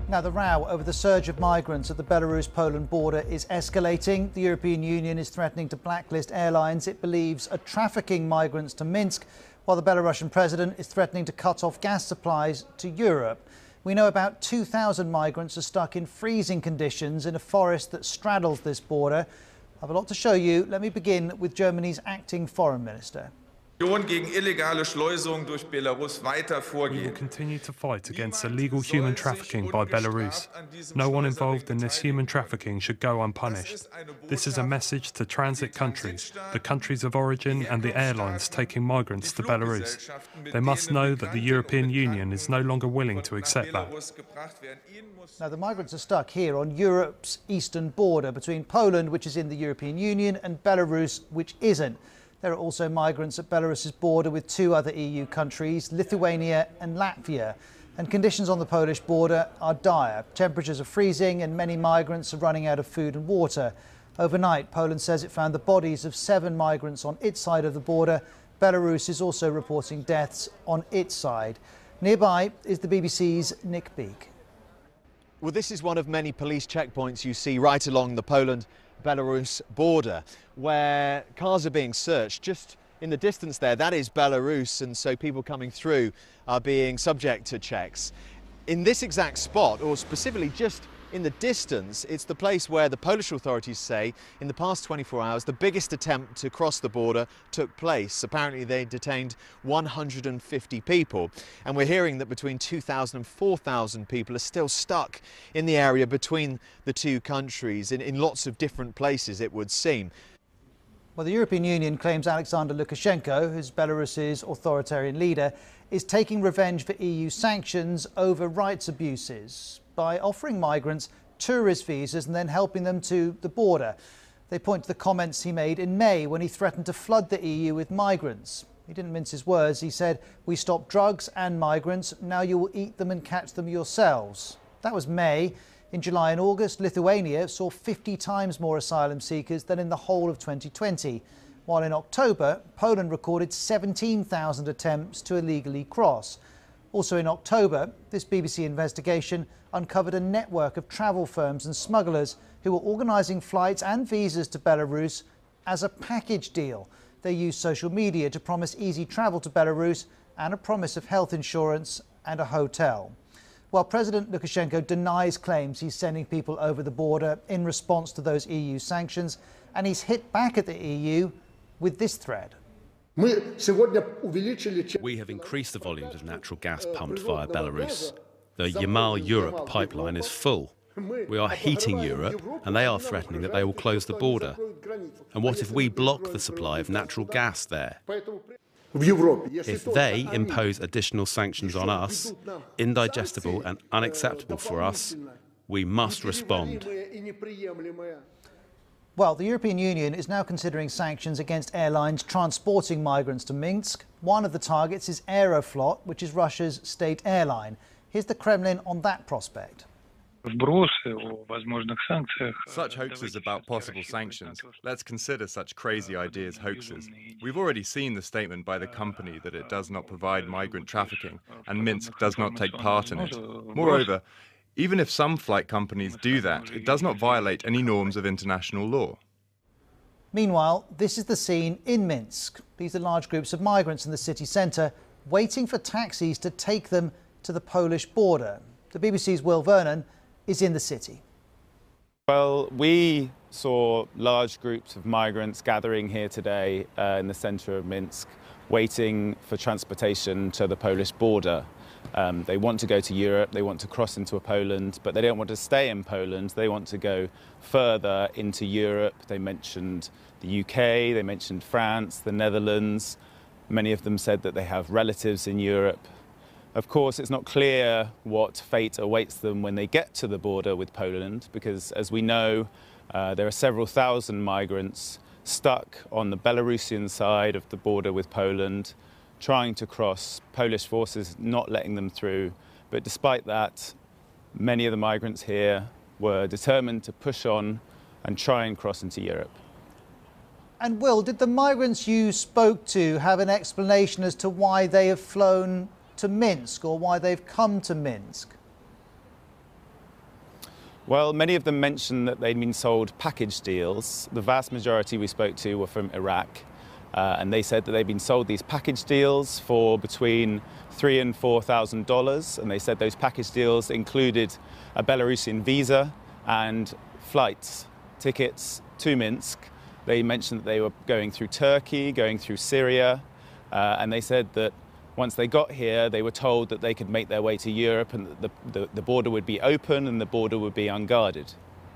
Now, the row over the surge of migrants at the Belarus-Poland border is escalating. The European Union is threatening to blacklist airlines it believes are trafficking migrants to Minsk, while the Belarusian president is threatening to cut off gas supplies to Europe. We know about 2,000 migrants are stuck in freezing conditions in a forest that straddles this border. I have a lot to show you. Let me begin with Germany's acting foreign minister. We will continue to fight against illegal human trafficking by Belarus. No one involved in this human trafficking should go unpunished. This is a message to transit countries, the countries of origin and the airlines taking migrants to Belarus. They must know that the European Union is no longer willing to accept that. Now, the migrants are stuck here on Europe's eastern border between Poland, which is in the European Union, and Belarus, which isn't. There are also migrants at Belarus's border with two other EU countries, Lithuania and Latvia. And conditions on the Polish border are dire. Temperatures are freezing and many migrants are running out of food and water. Overnight, Poland says it found the bodies of 7 migrants on its side of the border. Belarus is also reporting deaths on its side. Nearby is the BBC's Nick Beake. Well, this is one of many police checkpoints you see right along the Poland-Belarus border, where cars are being searched. Just in the distance there, that is Belarus, and so people coming through are being subject to checks. In this exact spot, or specifically just in the distance, it's the place where the Polish authorities say in the past 24 hours the biggest attempt to cross the border took place. Apparently they detained 150 people, and we're hearing that between 2,000 and 4,000 people are still stuck in the area between the two countries in lots of different places, it would seem. Well, the European Union claims Alexander Lukashenko, who's Belarus's authoritarian leader, is taking revenge for EU sanctions over rights abuses by offering migrants tourist visas and then helping them to the border. They point to the comments he made in May when he threatened to flood the EU with migrants. He didn't mince his words. He said, "We stop drugs and migrants. Now you will eat them and catch them yourselves." That was May. In July and August, Lithuania saw 50 times more asylum seekers than in the whole of 2020. While in October, Poland recorded 17,000 attempts to illegally cross. Also in October, this BBC investigation uncovered a network of travel firms and smugglers who were organising flights and visas to Belarus as a package deal. They used social media to promise easy travel to Belarus and a promise of health insurance and a hotel. While President Lukashenko denies claims he's sending people over the border in response to those EU sanctions, and he's hit back at the EU with this threat. We have increased the volumes of natural gas pumped via Belarus. The Yamal-Europe pipeline is full. We are heating Europe, and they are threatening that they will close the border. And what if we block the supply of natural gas there? If they impose additional sanctions on us, indigestible and unacceptable for us, we must respond. Well, the European Union is now considering sanctions against airlines transporting migrants to Minsk. One of the targets is Aeroflot, which is Russia's state airline. Here's the Kremlin on that prospect. Such hoaxes about possible sanctions. Let's consider such crazy ideas hoaxes. We've already seen the statement by the company that it does not provide migrant trafficking, and Minsk does not take part in it. Moreover, even if some flight companies do that, it does not violate any norms of international law. Meanwhile, this is the scene in Minsk. These are large groups of migrants in the city centre waiting for taxis to take them to the Polish border. The BBC's Will Vernon is in the city. Well, we saw large groups of migrants gathering here today in the centre of Minsk, waiting for transportation to the Polish border. They want to go to Europe, they want to cross into Poland, but they don't want to stay in Poland. They want to go further into Europe. They mentioned the UK, they mentioned France, the Netherlands. Many of them said that they have relatives in Europe. Of course, it's not clear what fate awaits them when they get to the border with Poland, because as we know, there are several thousand migrants stuck on the Belarusian side of the border with Poland, trying to cross, Polish forces not letting them through. But despite that, many of the migrants here were determined to push on and try and cross into Europe. And Will, did the migrants you spoke to have an explanation as to why they have flown to Minsk or why they've come to Minsk? Well, many of them mentioned that they'd been sold package deals. The vast majority we spoke to were from Iraq, and they said that they'd been sold these package deals for between $3,000 and $4,000, and they said those package deals included a Belarusian visa and flights, tickets to Minsk. They mentioned that they were going through Turkey, going through Syria, and they said that once they got here, they were told that they could make their way to Europe and that the border would be open and the border would be unguarded.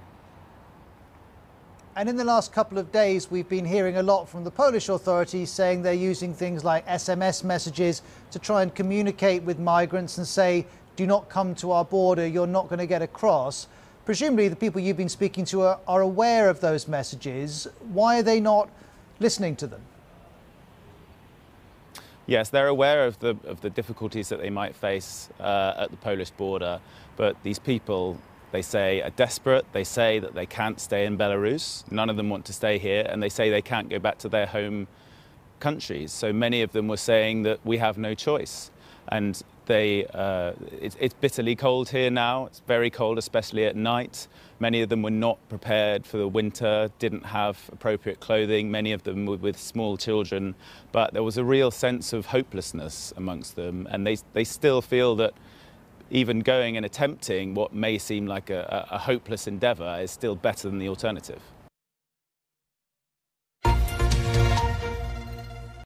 And in the last couple of days, we've been hearing a lot from the Polish authorities saying they're using things like SMS messages to try and communicate with migrants and say, do not come to our border, you're not going to get across. Presumably the people you've been speaking to are aware of those messages. Why are they not listening to them? Yes, they're aware of the difficulties that they might face at the Polish border, but these people, they say, are desperate. They say that they can't stay in Belarus. None of them want to stay here, and they say they can't go back to their home countries. So many of them were saying that we have no choice. And it's bitterly cold here now. It's very cold, especially at night. Many of them were not prepared for the winter, didn't have appropriate clothing. Many of them were with small children. But there was a real sense of hopelessness amongst them. And they still feel that even going and attempting what may seem like a hopeless endeavour is still better than the alternative.